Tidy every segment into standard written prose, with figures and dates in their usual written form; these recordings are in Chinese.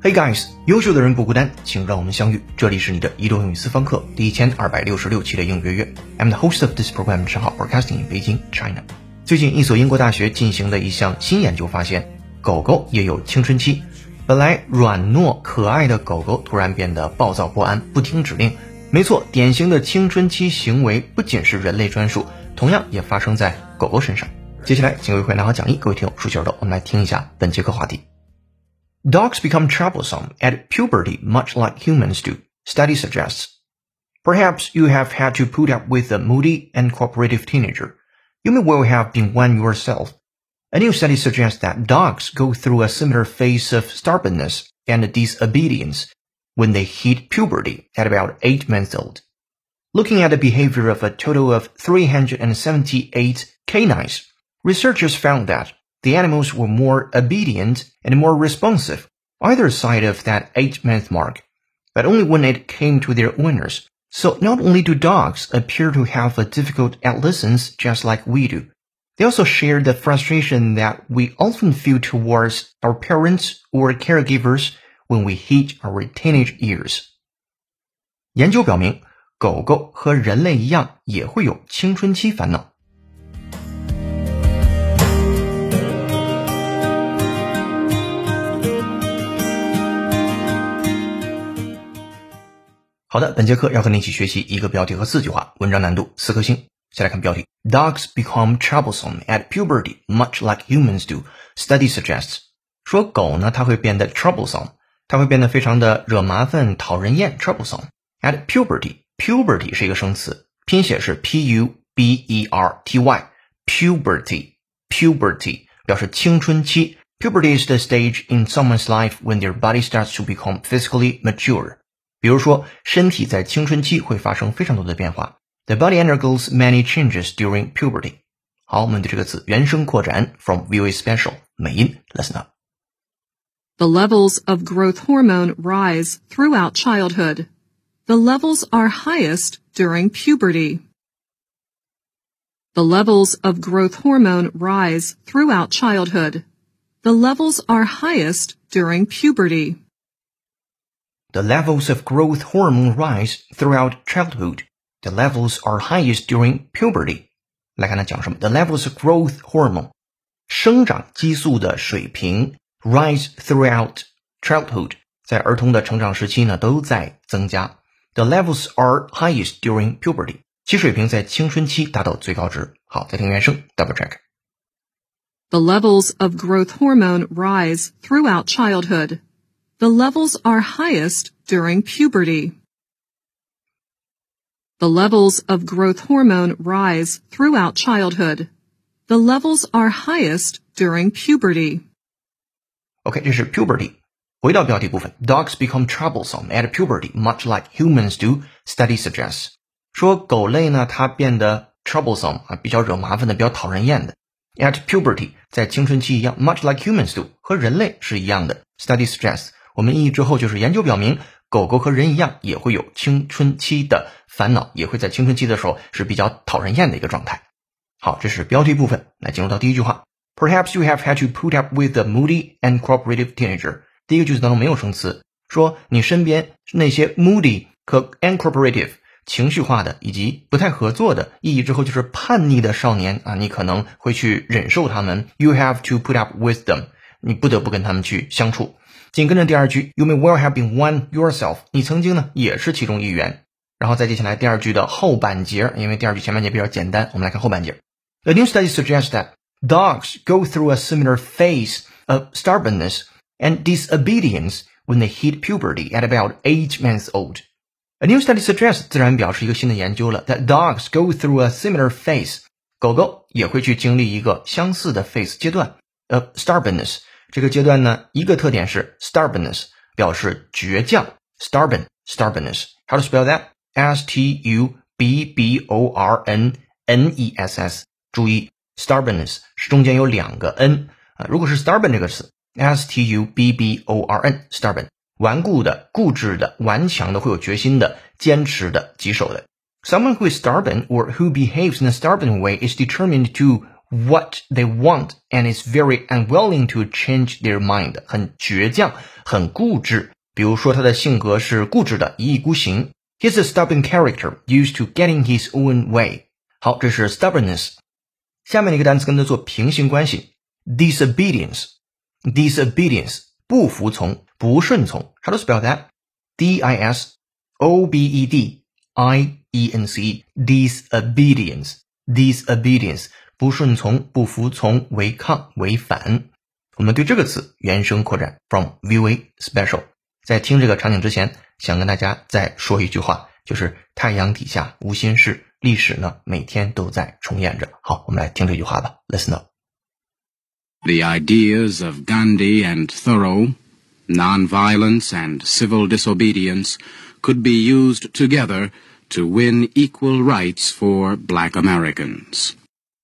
Hey guys， 优秀的人不孤单，请让我们相遇。这里是你的移动英语私房课第1266期的英语约约。I'm the host of this program, 陈浩 broadcasting in Beijing, China。最近一所英国大学进行的一项新研究发现，狗狗也有青春期。本来软糯可爱的狗狗突然变得暴躁不安，不听指令。没错，典型的青春期行为不仅是人类专属，同样也发生在狗狗身上。接下来请为会拿好讲义，各位听友竖起耳朵，我们来听一下本节课话题。Dogs become troublesome at puberty much like humans do, study suggests. Perhaps you have had to put up with a moody and cooperative teenager. You may well have been one yourself. A new study suggests that dogs go through a similar phase of stubbornness and disobedience when they hit puberty at about 8 months old. Looking at the behavior of a total of 378 canines, researchers found that the animals were more obedient and more responsive, either side of that 8-month mark, but only when it came to their owners. So not only do dogs appear to have a difficult adolescence just like we do, they also share the frustration that we often feel towards our parents or caregivers when we hit our teenage years. 研究表明，狗狗和人类一样也会有青春期烦恼。好的，本节课要和你一起学习一个标题和4句话，文章难度4颗星。先来看标题 Dogs become troublesome at puberty much like humans do, study suggests. 说狗呢，它会变得 troublesome, 它会变得非常的惹麻烦、讨人厌 troublesome. At puberty, puberty 是一个生词，拼写是 P-U-B-E-R-T-Y, puberty 表示青春期。Puberty is the stage in someone's life when their body starts to become physically mature.比如说，身体在青春期会发生非常多的变化。The body undergoes many changes during puberty. 好，我们对这个词原声扩展 from VOA Special 美音 listen up. The levels of growth hormone rise throughout childhood. The levels are highest during puberty. The levels of growth hormone rise throughout childhood. The levels are highest during puberty.The levels of growth hormone rise throughout childhood. The levels are highest during puberty. 来看它讲什么 The levels of growth hormone 生长激素的水平 rise throughout childhood 在儿童的成长时期呢都在增加 The levels are highest during puberty 其水平在青春期达到最高值。好，再听原声 double check. The levels of growth hormone rise throughout childhood.The levels are highest during puberty. The levels of growth hormone rise throughout childhood. The levels are highest during puberty. OK, 这是 puberty. 回到标题部分 Dogs become troublesome at puberty, much like humans do, study suggests. 说狗类呢，它变得 troublesome 比较惹麻烦的，比较讨人厌的。At puberty, 在青春期一样 much like humans do, 和人类是一样的。Study suggests.我们意义之后就是研究表明，狗狗和人一样也会有青春期的烦恼，也会在青春期的时候是比较讨人厌的一个状态。好，这是标题部分，来进入到第一句话。Perhaps you have had to put up with a moody and cooperative teenager. 第一个句子当中没有生词，说你身边那些 moody 和 uncooperative 情绪化的以及不太合作的，意义之后就是叛逆的少年啊，你可能会去忍受他们。You have to put up with them. 你不得不跟他们去相处。紧跟着第二句 You may well have been one yourself 你曾经呢也是其中一员。然后再接下来第二句的后半截，因为第二句前半截比较简单，我们来看后半截。A new study suggests that dogs go through a similar phase of stubbornness and disobedience when they hit puberty at about 8 months old. A new study suggests 自然表示一个新的研究了 that dogs go through a similar phase 狗狗也会去经历一个相似的 phase 阶段 of stubbornness这个阶段呢，一个特点是 stubbornness 表示倔强 stubbornness. How to spell that? S-T-U-B-B-O-R-N-N-E-S-S 注意 stubbornness 是中间有2个 n 如果是 stubborn 这个词 S-T-U-B-B-O-R-N stubborn 顽固的、固执的、顽强的、会有决心的、坚持的、棘手的。Someone who is stubborn or who behaves in a stubborn way is determined to what they want and is very unwilling to change their mind. 很倔强，很固执。比如说他的性格是固执的，一意孤行。He's a stubborn character used to getting his own way. 好，这是 stubbornness。下面的一个单词跟它做平行关系 disobedience. Disobedience 不服从，不顺从。 How to spell that? D-I-S-O-B-E-D-I-E-N-C-E. Disobedience. Disobedience 不顺从，不服从，违抗，违反。我们对这个词原声扩展 from VOA special。 在听这个场景之前，想跟大家再说一句话，就是太阳底下无心事，历史呢每天都在重演着。好，我们来听这句话吧。 Listen up. The ideas of Gandhi and Thoreau, nonviolence and civil disobedience, could be used together to win equal rights for black Americans.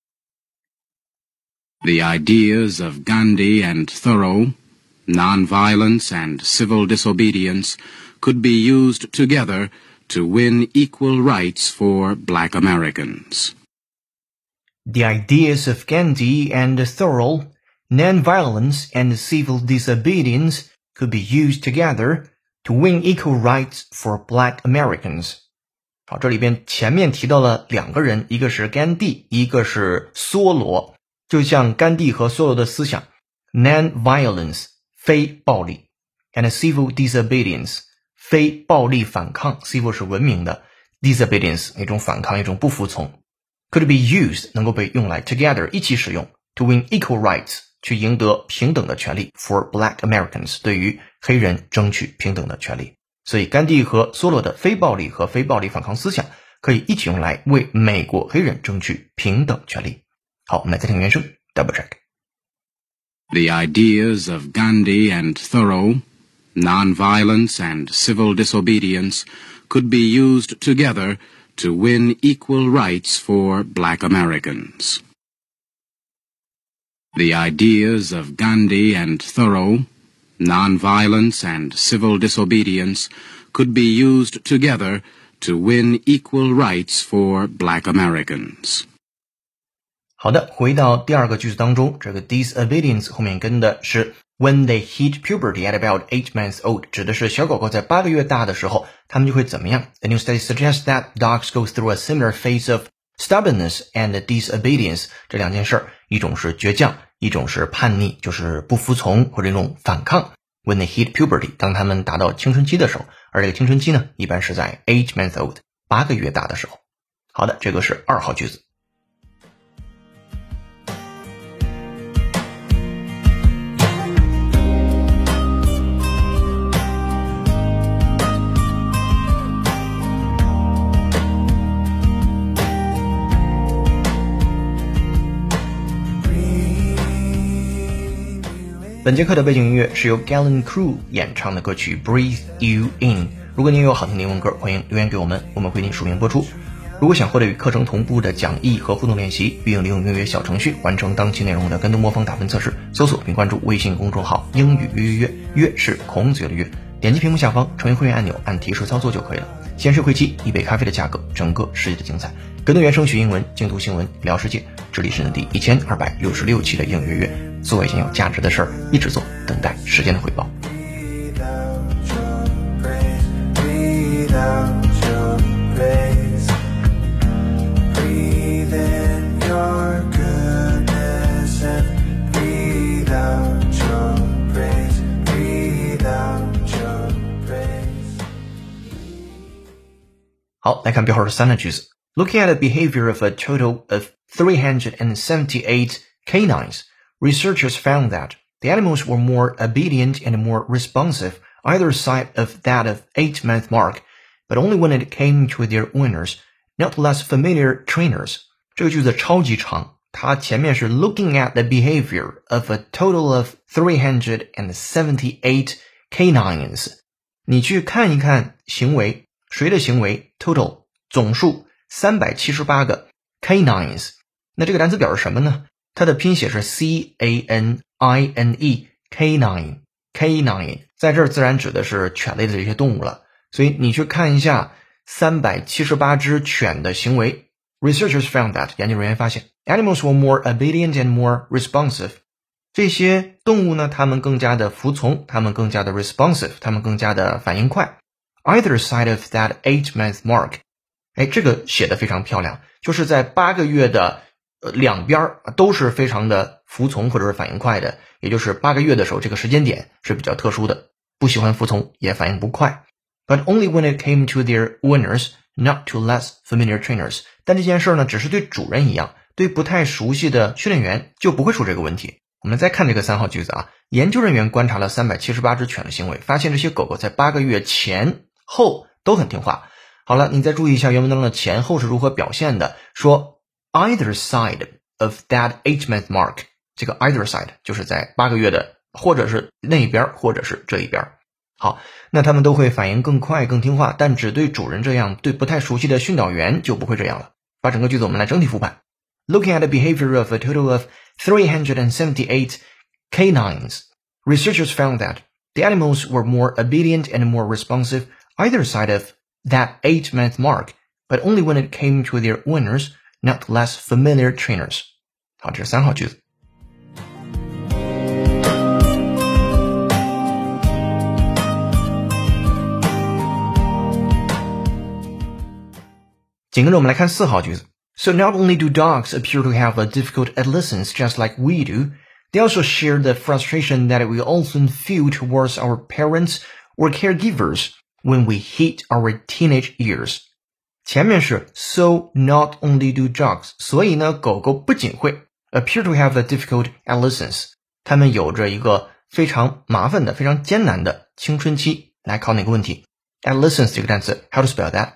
The ideas of Gandhi and Thoreau, nonviolence and civil disobedience, could be used together to win equal rights for black Americans. The ideas of Gandhi and Thoreau, nonviolence and civil disobedience, could be used together to win equal rights for black Americans. 好，这里边前面提到了两个人，一个是甘地，一个是梭罗。就像甘地和梭罗的思想 non-violence 非暴力 and civil disobedience 非暴力反抗 civil 是文明的 disobedience 一种反抗，一种不服从 could be used 能够被用来 together 一起使用 to win equal rights 去赢得平等的权利 for black Americans 对于黑人争取平等的权利。所以甘地和梭罗的非暴力和非暴力反抗思想可以一起用来为美国黑人争取平等权利。好，我们来再听原声 double check. The ideas of Gandhi and Thoreau, nonviolence and civil disobedience, could be used together to win equal rights for black Americans. The ideas of Gandhi and Thoreau, nonviolence and civil disobedience, could be used together to win equal rights for black Americans. 好的，回到第二个句子当中，这个 disobedience 后面跟的是 when they hit puberty at about 8 months old， 指的是小狗狗在8个月大的时候，它们就会怎么样？ The new study suggests that dogs go through a similar phase of stubbornness and disobedience。 这两件事儿，一种是倔强，一种是叛逆，就是不服从或者一种反抗。When they hit puberty， 当他们达到青春期的时候，而这个青春期呢，一般是在8 months old， 8个月大的时候。好的，这个是2号句子。本节课的背景音乐是由 Galen Crew 演唱的歌曲 Breathe You In。 如果您有好听的英文歌，欢迎留言给我们，我们会给您署名播出。如果想获得与课程同步的讲义和互动练习，并利用英语小程序完成当期内容的跟读模仿打分测试，搜索并关注微信公众号英语约约约，约是孔子约的约，点击屏幕下方成为会员按钮，按提示操作就可以了。显示会期一杯咖啡的价格，整个世界的精彩。跟读原声学英文，精读新闻聊世界。这里是第1266期的英语约约，做一件有价值的事儿，一直做，等待时间的回报。好，来看标号的3的句子。Looking at the behavior of a total of 378 canines, researchers found that the animals were more obedient and more responsive either side of that of 8-month mark, but only when it came to their owners, not less familiar trainers. 这个句子超级长，它前面是 looking at the behavior of a total of 378 canines. 你去看一看行为，谁的行为 total 总数378个 canines。 那这个单词表示什么呢？它的拼写是 C-A-N-I-N-E canine canine， 在这儿自然指的是犬类的这些动物了。所以你去看一下378只犬的行为， Researchers found that 研究人员发现 animals were more obedient and more responsive. 这些动物呢，它们更加的服从，它们更加的 responsive， 它们更加的反应快。Either side of that 8-month mark. 这个写得非常漂亮，就是在8个月的两边都是非常的服从或者是反应快的，也就是8个月的时候这个时间点是比较特殊的，不喜欢服从也反应不快。But only when it came to their owners, not to less familiar trainers. 但这件事呢，只是对主人一样，对不太熟悉的训练员就不会出这个问题。我们再看这个3号句子啊，研究人员观察了378只犬的行为，发现这些狗狗在8个月前后都很听话。好了，你再注意一下原文当中的前后是如何表现的，说 either side of that 8-month mark. 这个 either side 就是在8个月的，或者是那一边，或者是这一边。好，那他们都会反应更快更听话，但只对主人这样，对不太熟悉的训导员就不会这样了。把整个句子我们来整体复盘。Looking at the behavior of a total of 378 canines, researchers found that the animals were more obedient and more responsive either side of that 8-month mark, but only when it came to their owners, not less familiar trainers. 好，这是3号句子。紧跟着我们来看4号句子。So not only do dogs appear to have a difficult adolescence just like we do, they also share the frustration that we often feel towards our parents or caregivers when we hit our teenage years. 前面是 so not only do dogs, 所以呢，狗狗不仅会 appear to have a difficult adolescence, 它们有着一个非常麻烦的、非常艰难的青春期。来考哪个问题 ？adolescence 这个单词 how to spell that?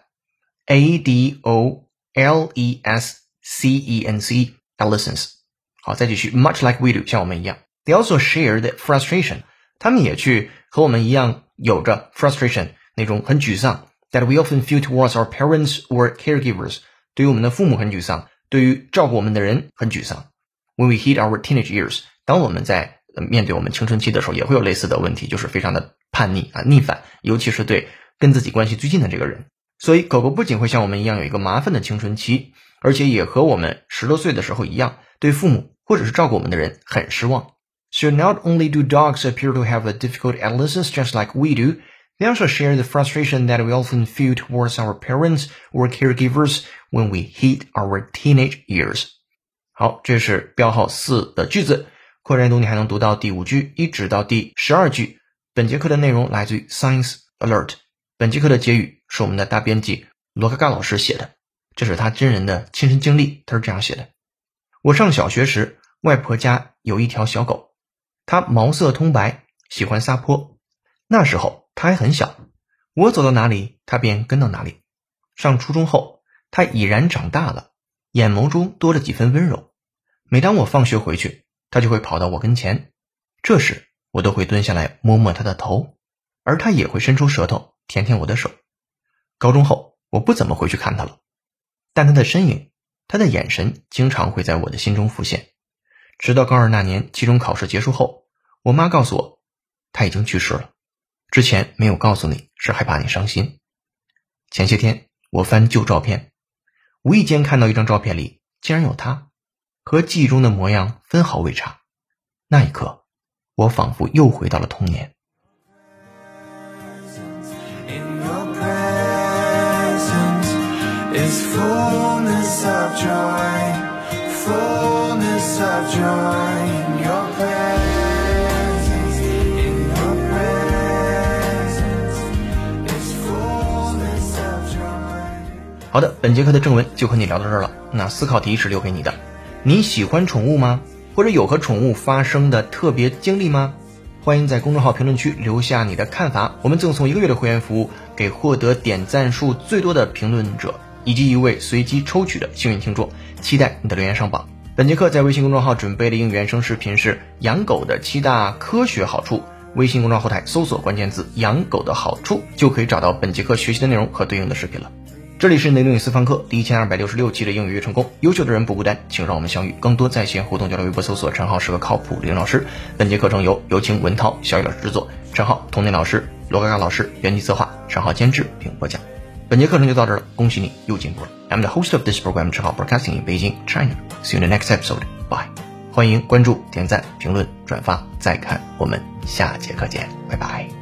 A-D-O-L-E-S-C-E-N-C, adolescence. 好，再继续 much like we do, 像我们一样。They also share the frustration. 他们也去和我们一样有着 frustration, 那种很沮丧 that we often feel towards our parents or caregivers. 对于我们的父母很沮丧，对于照顾我们的人很沮丧。When we hit our teenage years, 当我们在面对我们青春期的时候，也会有类似的问题，就是非常的叛逆啊，逆反，尤其是对跟自己关系最近的这个人。所以狗狗不仅会像我们一样有一个麻烦的青春期，而且也和我们10多岁的时候一样，对父母或者是照顾我们的人很失望。So not only do dogs appear to have a difficult adolescence just like we do, they also share the frustration that we often feel towards our parents or caregivers when we hit our teenage years. 好，这是标号4的句子。扩展阅读你还能读到第5句一直到第12句。本节课的内容来自于 Science Alert。本节课的结语是我们的大编辑罗嘎嘎老师写的，这是他真人的亲身经历，他是这样写的。我上小学时，外婆家有一条小狗，它毛色通白，喜欢撒泼。那时候它还很小，我走到哪里，它便跟到哪里。上初中后，它已然长大了，眼眸中多了几分温柔。每当我放学回去，它就会跑到我跟前，这时我都会蹲下来摸摸它的头，而它也会伸出舌头舔舔我的手。高中后，我不怎么回去看它了，但它的身影，它的眼神经常会在我的心中浮现。直到高2那年期中考试结束后，我妈告诉我，它已经去世了。之前没有告诉你，是害怕你伤心。前些天我翻旧照片，无意间看到一张照片里竟然有它，和记忆中的模样分毫未差。那一刻，我仿佛又回到了童年。 Is fullness of joy, fullness of joy in your presence, in your presence is fullness of joy. 好的，本节课的正文就和你聊到这儿了。那思考题是留给你的，你喜欢宠物吗？或者有和宠物发生的特别经历吗？欢迎在公众号评论区留下你的看法，我们赠送1个月的会员服务给获得点赞数最多的评论者，以及一位随机抽取的幸运听众，期待你的留言上榜。本节课在微信公众号准备的英语原声视频是养狗的7大科学好处，微信公众号后台搜索关键字养狗的好处，就可以找到本节课学习的内容和对应的视频了。这里是内容与私房课第1266期的英语越成功，优秀的人不孤单，请让我们相遇。更多在线互动交流，微博搜索陈浩是个靠谱理论老师。本节课程由有请文涛、小雨老师制作，陈浩、童年老师、罗嘎嘎老师编辑策划，陈浩监制并播讲。 本节课程就到这儿了，恭喜你又进步了。I'm the host of this program, 只好 broadcasting in Beijing, China. See you in the next episode. Bye. 欢迎关注、点赞、评论、转发，再看我们下节课见，拜拜。